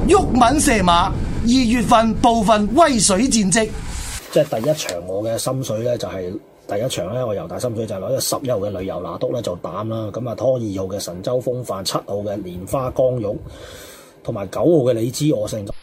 毓民射馬2月份部分威水戰績。 即係第一場我嘅心水咧，就係第一場咧，我由大心水就攞咗11號嘅旅遊拿督咧做膽啦，咁啊拖2號嘅神州風範、7號嘅蓮花光玉，同埋9號嘅你知我勝。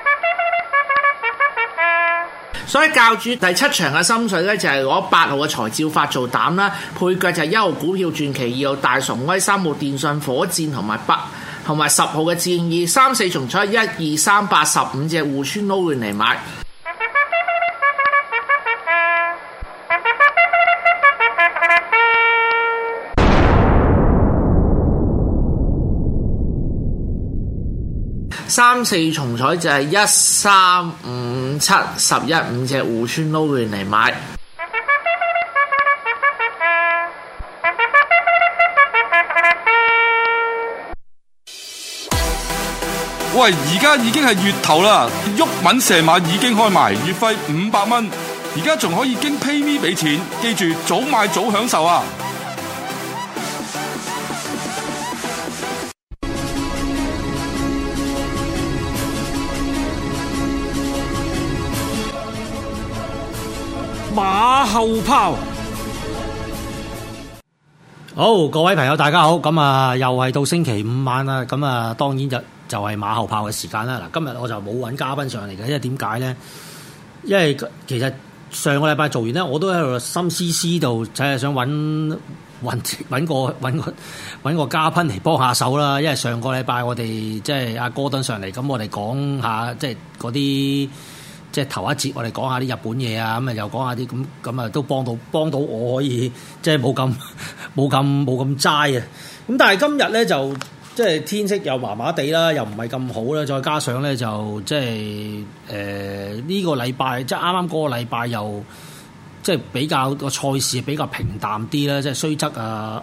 所以教主第7場嘅心水咧，就係攞8號嘅財照發做膽啦，配腳就係1號股票傳奇、2號大崇威、3號電信火箭同埋10號嘅戰意，3、4重彩1、2、3、8、15隻互村撈亂嚟買。3、4重彩就係1、3、5、7、11 5隻互村撈亂嚟買。 喂，而家已經係月頭啦，毓民射馬已經開埋，月費500蚊，而家仲可以經 PayMe 俾錢，記住早買早享受啊！ 馬後炮， 好，各位朋友大家好，咁啊又係到星期五晚啦，咁啊當然就係馬後炮嘅時間啦。嗱，今日我就冇揾嘉賓上嚟嘅，因為點解咧？因為其實上個禮拜做完咧，我都喺度心思思度，就係想揾個嘉賓嚟幫下手啦。因為上個禮拜我哋即係阿哥頓上嚟，咁我哋講下即係嗰啲。即係頭一節，我哋講下啲日本嘢啊，咁啊又講下啲咁啊，都幫到我可以即係冇咁齋啊！咁但係今日咧就即係天色又麻麻地啦，又唔係咁好啦，再加上咧就即係呢個禮拜即係啱啱嗰個禮拜又即係比較個賽事比較平淡啲啦，即係雖則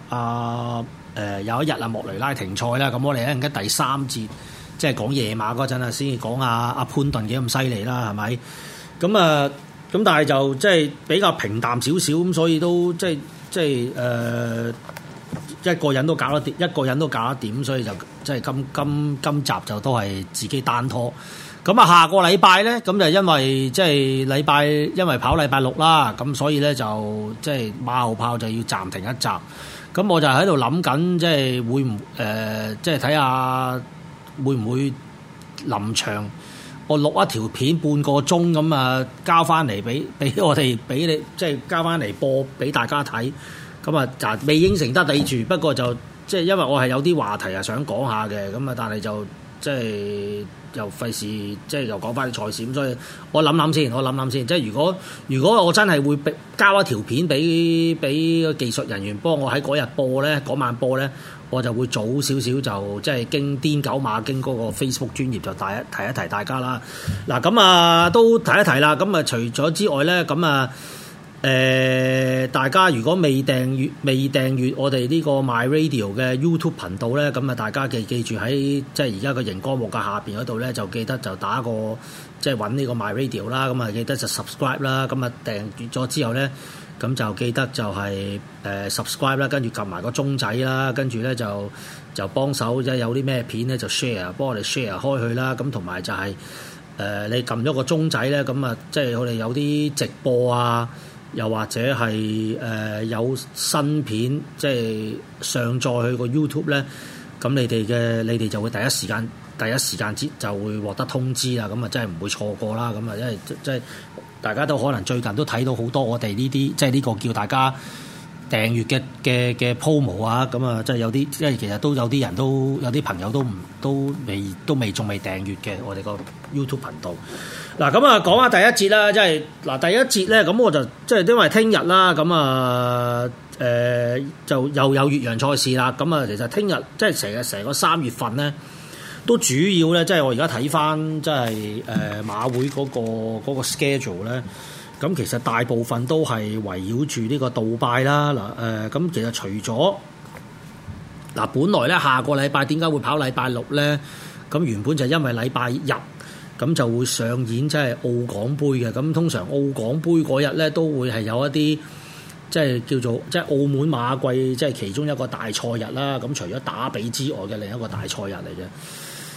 有一日啊莫雷拉停賽啦，咁我哋一陣間第3節。即係講夜馬嗰陣啊，先至講阿潘頓幾咁犀利啦，係咪？咁但係就即係比較平淡少少，咁所以都即係一個人都搞得掂，所以就即係今集就都係自己單拖。咁啊，下個禮拜咧，咁就因為即係因為跑禮拜6啦，咁所以咧就即係馬後炮就要暫停一集。咁我就喺度諗緊，即係會唔即係睇下。會唔會臨場我錄一條片半個鐘咁啊，交翻嚟俾我哋俾你，即係交翻嚟播俾大家睇。咁啊，就未應承得你住，不過就即係因為我係有啲話題係想講下嘅，咁啊，但係就即係又費事，即係又講翻啲賽事，咁所以我諗先。即係如果我真係會交一條片俾技術人員幫我喺嗰日播咧，嗰晚播咧。我就會早少少就即係經癲狗馬經嗰個 Facebook 專頁就提一提大家啦。嗱咁啊都提一提啦。咁啊除咗之外咧，咁啊大家如果未訂閱我哋呢個 My Radio 嘅 YouTube 頻道咧，咁啊大家記住喺即係而家個熒光幕嘅下邊嗰度咧，就記得就打個即係揾呢個 My Radio 啦。咁啊記得就 subscribe 啦。咁啊訂閱咗之後咧。咁就記得就係subscribe 啦，跟住撳埋個鐘仔啦，跟住咧就幫手即係有啲咩片咧就 share，幫我哋 share 開去啦。咁同埋就係你撳咗個鐘仔咧，咁啊即係我哋有啲直播啊，又或者係有新片即係上載去個 YouTube 咧，咁你哋就會第一時間就會獲得通知啦。咁啊真係唔會錯過啦。咁啊因為即係。大家都可能最近都睇到好多我哋呢啲，即係呢個叫大家訂閱嘅 promo 啊，咁啊，即係有啲，即係其實都有啲人都有啲朋友都未仲未訂閱嘅我哋個 YouTube 頻道。嗱，咁啊講下第一節啦，即係嗱第一節咧，咁我就即係因為聽日啦，咁啊就又有越洋賽事啦，咁啊其實聽日即係成個3月份咧。都主要咧，即係我而家睇翻，即係馬會嗰個 schedule 咧，咁其實大部分都係圍繞住呢個杜拜啦。嗱咁其實除咗嗱，本來咧下個禮拜點解會跑禮拜6咧？咁原本就因為禮拜日咁就會上演即係澳港杯嘅。咁通常澳港杯嗰日咧都會係有一啲即係叫做即係澳門馬季即係其中一個大賽日啦。咁除咗打比之外嘅另一個大賽日嚟嘅。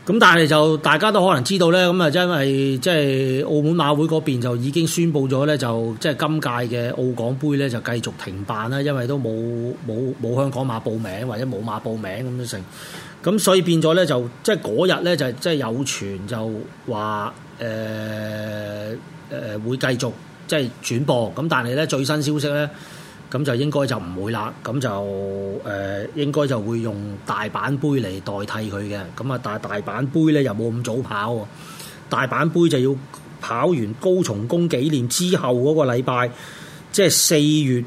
咁但係就大家都可能知道咧，咁啊因為即係澳門馬會嗰邊就已經宣布咗咧，就即係今屆嘅澳港杯咧就繼續停辦啦，因為都冇香港馬報名或者冇馬報名咁樣成，咁所以變咗咧就即係嗰日咧就即係有傳就話會繼續即係轉播，咁但係咧最新消息咧。咁就應該就唔會啦，咁就應該就會用大阪杯嚟代替佢嘅，咁啊但係大阪杯咧又冇咁早跑喎，大阪杯就要跑完高松宮紀念之後嗰個禮拜，即係4月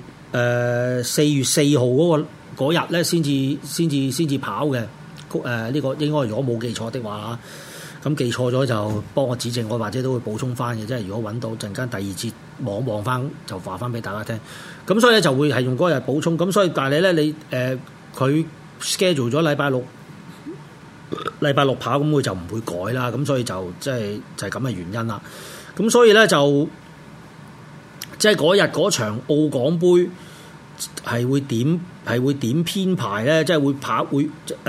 4號嗰日咧先至跑嘅，呢個應該如果冇記錯的話，咁記錯咗就幫我指正，我或者都會補充翻嘅，即係如果揾到陣間第二節望翻就話翻俾大家聽。咁所以咧就會係用嗰日補充，咁所以但係咧你佢 schedule 咗禮拜六跑，咁佢就唔會改啦，咁所以就即係就係咁嘅原因啦。咁所以咧就即係嗰日嗰場澳港杯係會點編排咧？即係會跑會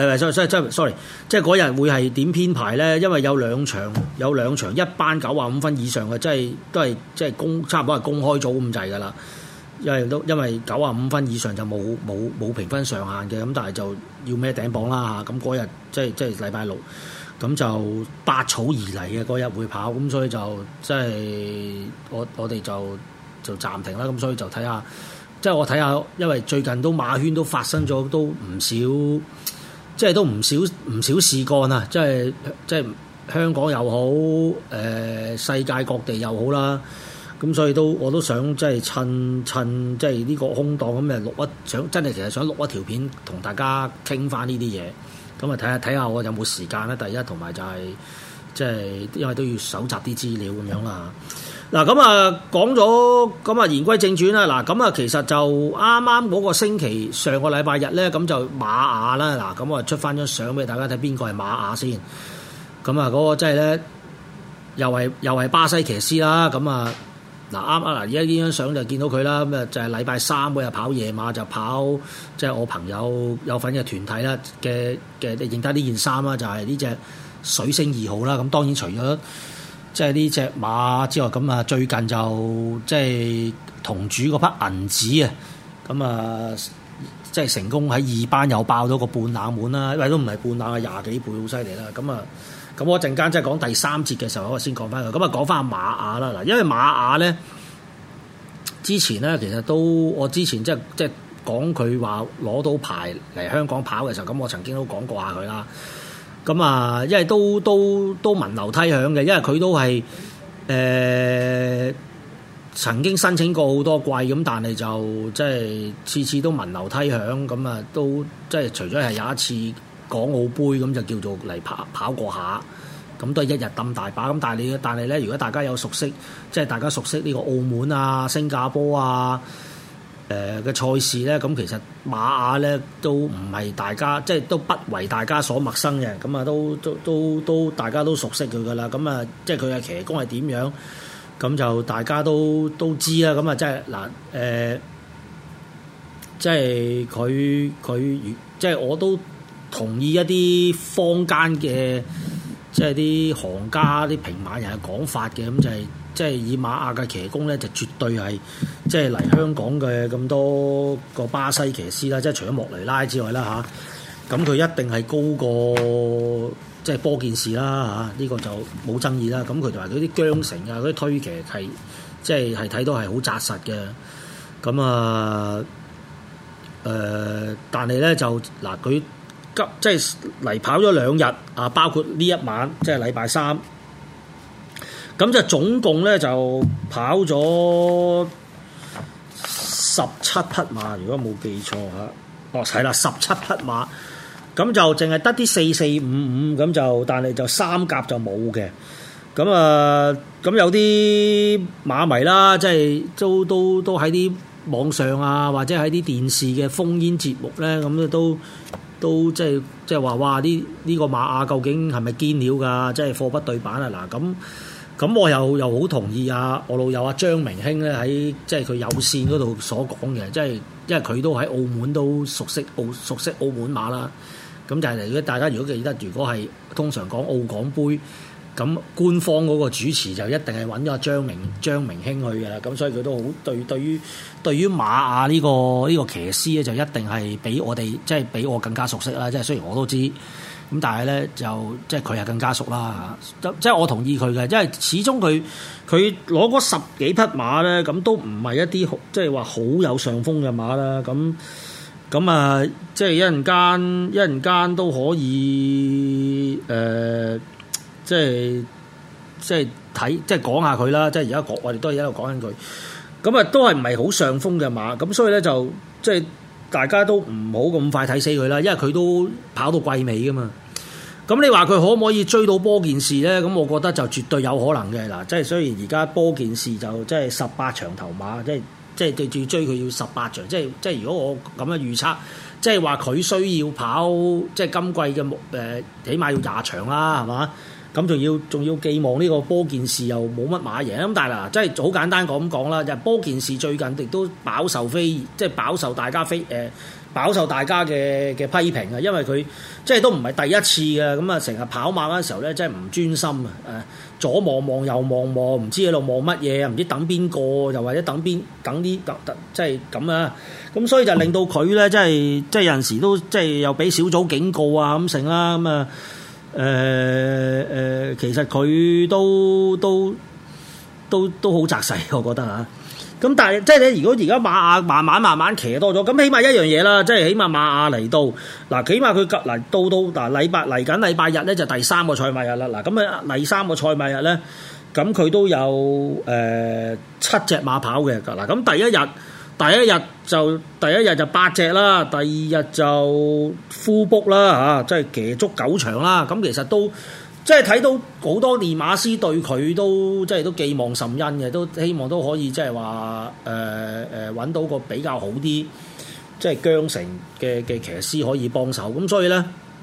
sorry， 即係嗰日會係點編排咧？因為有兩場一班95分以上嘅，即係都係即係差唔多係公開組咁滯㗎啦。因為95分以上就冇評分上限嘅，咁但係就要孭頂磅啦嚇。咁嗰日即係禮拜六，咁就百草而嚟嘅嗰日會跑，咁所以就即係我哋就暫停啦。咁所以就睇下，即係我睇下，因為最近都馬圈都發生咗都唔少，即係都唔少事幹啊！即係香港又好，世界各地又好啦。咁所以我都想即係趁即係呢個空檔咁其實想錄一條片同大家傾翻呢啲嘢，咁啊睇下我有冇時間咧。第一同埋就係即係因為都要搜集啲資料咁樣啦。嗱咁啊講咗咁啊言歸正傳啦。嗱咁啊其實就啱啱嗰個星期上個禮拜日咧，咁就馬雅啦。嗱咁我出翻張相俾大家睇，邊個係馬雅先？咁啊嗰個即係咧又係巴西騎師啦。咁啊〜嗱啱啊！嗱，而家呢張相就見到佢啦，咁啊就係禮拜三嗰日跑夜馬就跑，即係我朋友有份嘅團體啦嘅認得呢件衫啦，就係呢隻水星2號啦。咁當然除咗即係呢隻馬之外，咁啊最近就即係同主嗰匹銀紙啊，咁啊即係成功喺2班又爆咗個半冷門啦，因為都唔係半冷啊，20幾倍好犀利啦，咁我陣間即係講第三節嘅時候，我先講翻佢。咁啊，講翻馬雅啦。嗱，因為馬雅咧，之前咧其實我之前即係講佢話攞到牌嚟香港跑嘅時候，咁我曾經都講過下佢啦。咁啊，因為都聞樓梯響嘅，因為佢都係曾經申請過好多季，咁但係就即係次次都聞樓梯響，咁啊都即係除咗係有一次港澳杯咁就叫做嚟跑過下，咁都係一日抌大把。咁但係咧，如果大家有熟悉，即係大家熟悉呢個澳門啊、新加坡啊嘅賽事咧，咁其實馬雅咧都唔係大家即係都不為大家所陌生嘅。咁啊都大家都熟悉佢噶啦。咁啊即係佢嘅騎功係點樣，咁就大家都知啦。咁啊即係嗱即係佢即係我都同意一啲坊間嘅即係啲行家、啲平馬人嘅講法嘅，咁就係即係以馬雅嘅騎功咧，就絕對係即係嚟香港嘅咁多個巴西騎師啦，即係除咗莫雷拉之外啦嚇，咁佢一定係高過即係波健士啦嚇，呢個就冇爭議啦。咁佢同埋嗰啲韁繩啊、嗰啲推騎係即係睇到係好紮實嘅。咁啊但係咧就嗱佢。即係嚟跑咗2日啊，包括呢一晚即係禮拜三，咁就總共咧就跑咗17匹馬，如果冇記錯嚇，係啦17匹馬，咁就淨係得啲4455咁就，但係就3甲就冇嘅，咁啊咁有啲馬迷啦，即係都喺啲網上啊，或者喺啲電視嘅烽煙節目咧，咁都即係話哇！呢個馬雅究竟係咪堅料㗎？即係貨不對版啊！嗱咁我又好同意我老友張明興咧喺即係佢有線嗰度所講嘅，即係因為佢都喺澳門都熟悉澳門馬啦。 咁就係如果大家如果記得，如果係通常講澳港杯，咁官方嗰個主持就一定係揾咗張明興去嘅啦。咁所以佢都好對於馬亞呢個騎師咧，就一定係比我哋即係比我更加熟悉啦。即係雖然我都知，咁但係咧就即係佢係更加熟啦嚇。即係我同意佢嘅，因為始終佢攞嗰10幾匹馬咧，咁都唔係一啲即係話好有上風嘅馬啦。咁啊，即係一陣間都可以即係睇即係講下佢啦。即係而家我哋都係一路講緊佢。咁啊，都係唔係好上風嘅馬。咁所以咧就即係大家都唔好咁快睇死佢啦，因為佢都跑到季尾噶嘛。咁你話佢可唔可以追到波件事咧？咁我覺得就絕對有可能嘅嗱。即係雖然而家波件事就即係18場頭馬，即係對住追佢要18場。即係如果我咁樣預測，即係話佢需要跑即係今季嘅起碼要20場啦，係嘛？咁仲要寄望呢個波件事又冇乜馬贏咁，但係嗱，即係好簡單講啦，就波件事最近亦都飽受大家嘅批評啊，因為佢即係都唔係第一次嘅，咁啊成日跑馬嗰陣時候咧，真係唔專心啊！左望右望，唔知喺度望乜嘢，唔知等邊個，又或者等啲即係咁啊！咁所以就令到佢咧，即係有陣時都即係又俾小組警告啊咁成啦，咁啊其實佢都好紮實，我覺得嚇。咁但係即係你如果而家馬亞慢慢騎多咗，咁起碼一樣嘢啦，即係起碼馬亞嚟到嗱，起碼佢嗱到嗱嚟緊禮拜日咧就第3個賽馬日啦。嗱咁啊第3個賽馬日咧，咁佢都有7隻馬跑嘅嗱。咁第一日就8隻啦，第2日就 full book 啦嚇，即係騎足9場啦。咁其實都即係睇到好多練馬師對佢都即係都寄望甚殷嘅，都希望都可以即係話揾到個比較好啲即係韁繩嘅騎師可以幫手。咁所以咧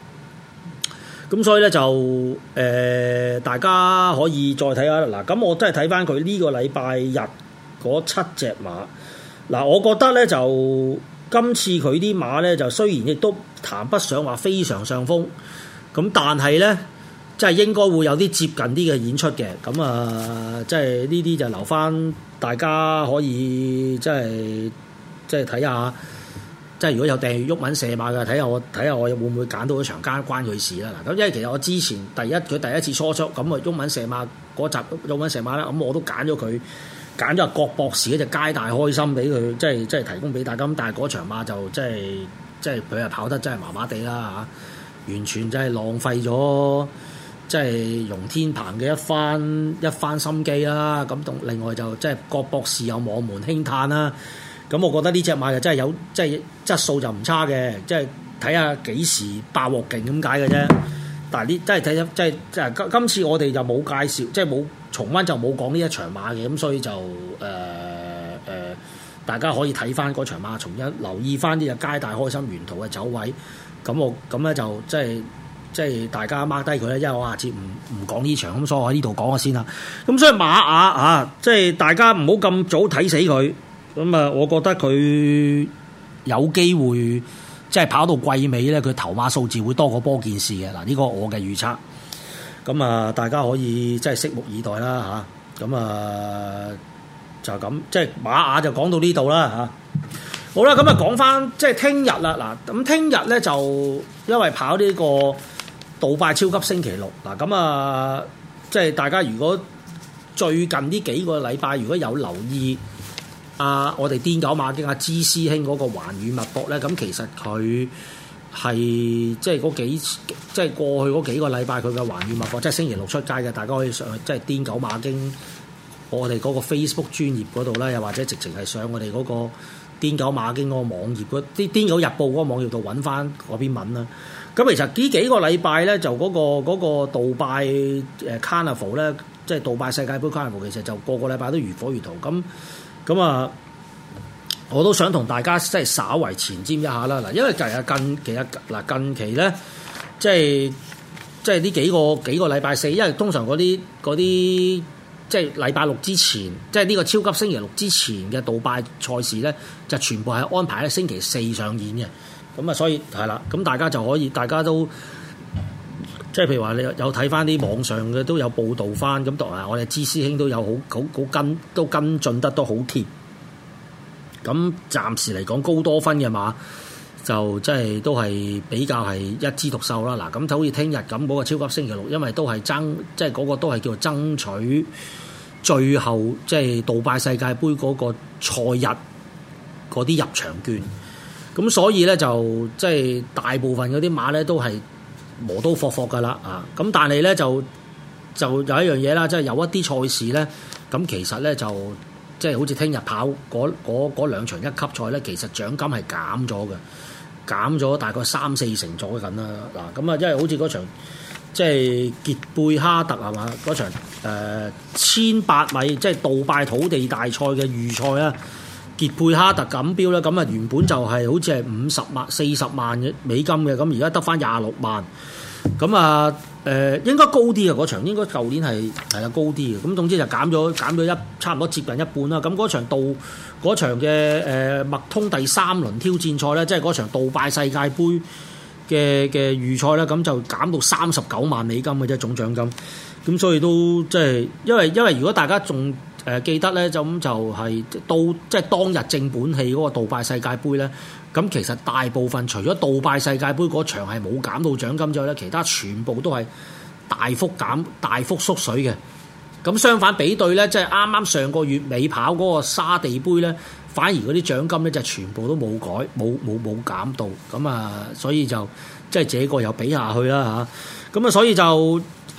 就大家可以再睇下嗱。咁我真係睇翻佢呢個禮拜日嗰7隻馬嗱，我覺得咧就今次佢啲馬咧就雖然亦都談不上話非常上風，咁但係咧，即係應該會有啲接近啲嘅演出嘅。咁啊，即係呢啲就留翻大家可以即係睇下，即係如果有訂閱毓民射馬嘅，睇下我會唔會揀到一場關佢事啦。嗱，咁因為其實我之前佢第一次初出咁啊，毓民射馬嗰集毓民射馬啦，咁我都揀咗佢。揀咗郭博士嗰隻皆大開心俾佢，即係提供俾大家。咁但係嗰場馬就即係佢係跑得真係麻麻地啦嚇，完全真係浪費咗即係容天鵬嘅一番心機啦。咁同另外就即係郭博士有網門輕嘆啦。咁我覺得呢隻馬就真係有即係質素就唔差嘅，即係睇下幾時爆鑊勁咁解嘅啫。但係呢真係睇即係今次我哋就冇介紹，即係冇。重溫就冇講呢一場馬嘅，咁所以就大家可以睇翻嗰場馬，重一留意翻呢隻皆大開心沿途嘅走位。咁咧就即係大家 mark 低佢咧，因為我下次唔講呢場，咁所以我喺呢度講下先啦。咁所以馬亞即係大家唔好咁早睇死佢。咁啊，我覺得佢有機會即係跑到季尾咧，佢頭馬數字會多過波件事嘅嗱。呢個我嘅預測。咁啊，大家可以即係拭目以待啦嚇。咁啊就咁，即係馬亞就講到呢度啦嚇。好啦，咁啊講翻即係聽日啦嗱。咁聽日咧就因為跑呢個杜拜超級星期六嗱，咁啊即係大家如果最近呢幾個禮拜如果有留意我哋癲狗馬經芝師兄嗰個環宇脈搏咧，咁其實佢係即係過去嗰幾個禮拜佢嘅環宇脈搏，即係星期六出街嘅，大家可以上去即係癲狗馬經我哋嗰個 Facebook 專頁嗰度啦，又或者直情係上我哋嗰個癲狗馬經嗰個網頁嗰啲癲狗日報嗰個網頁度揾翻嗰篇文啦。咁其實呢幾個禮拜咧，就嗰個杜拜Carnival 咧，即係杜拜世界盃 Carnival，其實就個個禮拜都如火如荼。咁啊，我都想同大家即係稍為前瞻一下啦。嗱，因為近期咧，即係呢幾個禮拜四，因為通常嗰啲即係禮拜六之前，即係呢個超級星期六之前嘅杜拜賽事咧，就全部係安排喺星期四上演嘅。 咁啊，所以係啦，咁大家就可以，大家都即係譬如話你有睇翻啲網上嘅都有報導翻，咁同埋我哋知師兄都有好跟進得都好貼。咁暫時嚟講高多分嘅馬就即係都係比較係一枝獨秀啦。嗱，咁就好似聽日咁嗰個超級星期六，因為都係即係嗰個都係叫做爭取最後即係杜拜世界盃嗰個賽日嗰啲入場券。咁所以咧就即係大部分嗰啲馬咧都係磨刀霍霍噶啦啊！咁但係咧就有一樣嘢啦，即係有一啲賽事咧，咁其實咧就即係好似聽日跑嗰兩場一級賽咧，其實獎金係減咗嘅，減咗大概3-4成咗緊啦。嗱，咁啊，因為好似嗰場即係傑貝哈特係嘛嗰場1800米即係杜拜土地大賽嘅預賽啦。傑貝哈特錦標咧，咁啊原本就係好似係40萬嘅美金嘅，咁而家得翻26萬，咁啊應該高啲嘅嗰場，應該舊年係啦高啲嘅，咁總之就減咗差唔多接近一半啦。咁嗰場嘅麥通第3輪挑戰賽咧，即係嗰場杜拜世界盃嘅預賽咧，咁就減到39萬美金嘅啫總獎金，咁所以都即係因為如果大家仲記得咧，就係到即係當日正本戲嗰個杜拜世界盃咧，咁其實大部分除咗杜拜世界盃嗰場係冇減到獎金之外咧，其他全部都係大幅縮水嘅。咁相反比對咧，即係啱啱上個月尾跑嗰個沙地盃咧，反而嗰啲獎金咧就全部都冇減到。咁啊，所以就即係這個又比下去啦嚇。咁啊，所以就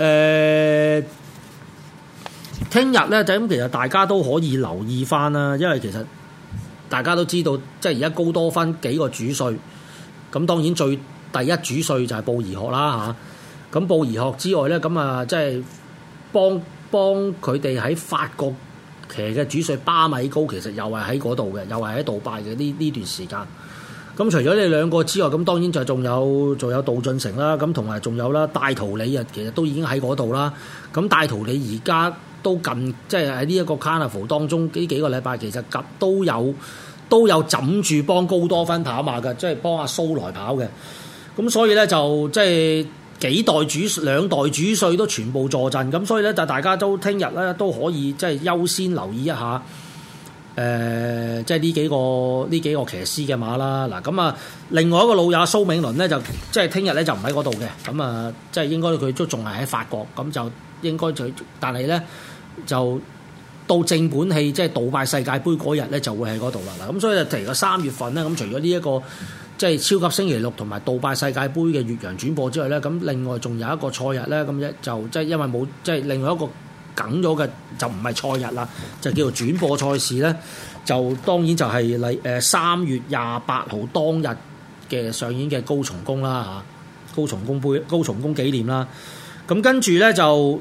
聽日咧就咁，其實大家都可以留意翻啦，因為其實大家都知道，即係而家高多分幾個主帥，咁當然第一主帥就係布宜諾啦嚇。咁布宜諾之外咧，咁啊即係幫佢哋喺法國騎嘅主帥巴米高，其實又係喺嗰度嘅，又係喺杜拜嘅呢段時間。咁除咗你兩個之外，咁當然就仲有杜俊成啦，咁同埋仲有啦戴圖理啊，其實都已經喺嗰度啦。咁戴圖理而家都近，即係喺呢一個 Carnival 當中呢幾個禮拜，其實都有枕住幫高多芬跑馬嘅，即係幫阿蘇來跑嘅。咁所以咧就即係兩代主帥都全部坐陣，咁所以咧就大家都聽日咧都可以即係優先留意一下。即係呢幾個騎師嘅馬啦。嗱，咁啊，另外一個老友蘇銘倫咧就即係聽日咧就唔喺嗰度嘅。咁啊，即係應該佢都仲係喺法國，咁就應該但係咧就到正本戲即係杜拜世界盃嗰日咧就會喺嗰度啦。嗱，咁所以就提個3月份咧，咁除咗呢一個即係超級星期六同埋杜拜世界盃嘅越洋轉播之外咧，咁另外仲有一個賽日咧，咁就即係因為冇即係另外一個梗咗嘅就唔係賽日啦，就叫做轉播賽事咧，就當然就係3月28號當日嘅上演嘅高松宮啦嚇，高松宮紀念啦。咁跟住咧就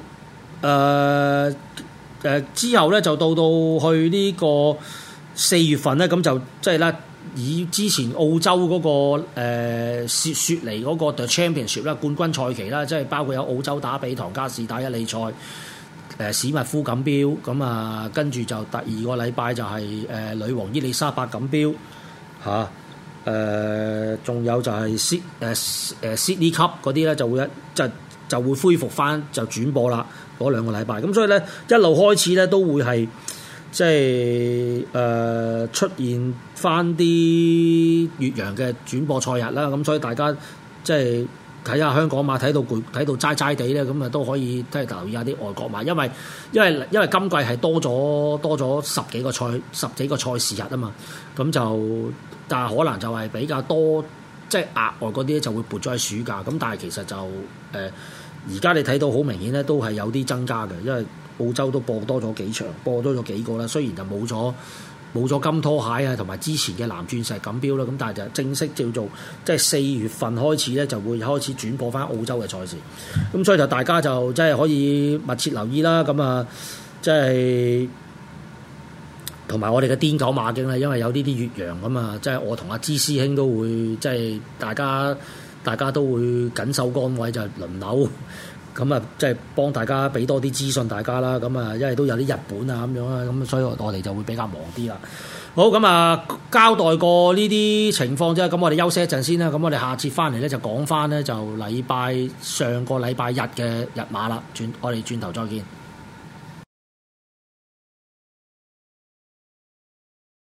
之後咧就到去呢個4月份咧，咁就即係咧以之前澳洲嗰個雪梨嗰個 The Championship 啦冠軍賽期啦，即係包括有澳洲打比、唐加士打一哩賽。史密夫錦標，咁啊跟住就第2個禮拜就係女王伊麗莎白錦標嚇，仲有就係Sydney Cup 嗰啲咧就會恢復翻就轉播啦嗰2個禮拜，咁所以咧一路開始咧都會係即係出現翻啲越洋嘅轉播賽日啦，咁所以大家即係睇下香港馬睇到攰睇到齋齋地咧，咁啊都可以即係留意下啲外國馬，因為今季係多咗十幾個賽事日啊嘛，咁就但係可能就係比較多即係額外嗰啲就會撥咗喺暑假，咁但係其實就而家你睇到好明顯咧都係有啲增加嘅，因為澳洲都播多咗幾場，播多咗幾個啦，雖然就冇咗金拖鞋啊，同埋之前嘅藍鑽石錦標啦，咁但係就正式叫做即係4月份開始咧，就會開始轉播翻澳洲嘅賽事。咁所以就大家就即係可以密切留意啦。咁啊，即係同埋我哋嘅癲狗馬經啦，因為有呢啲越洋咁啊，即係我同阿芝師兄都會即係大家都會緊守崗位，就輪流咁啊，即係幫大家俾多啲資訊大家啦。咁啊，因為都有啲日本啊咁樣啦，咁所以我哋就會比較忙啲啦。好，咁啊，交代過呢啲情況啫，咁我哋休息一陣先啦。咁我哋下節翻嚟咧就講翻咧就上個禮拜日嘅日馬啦。我哋轉頭再見。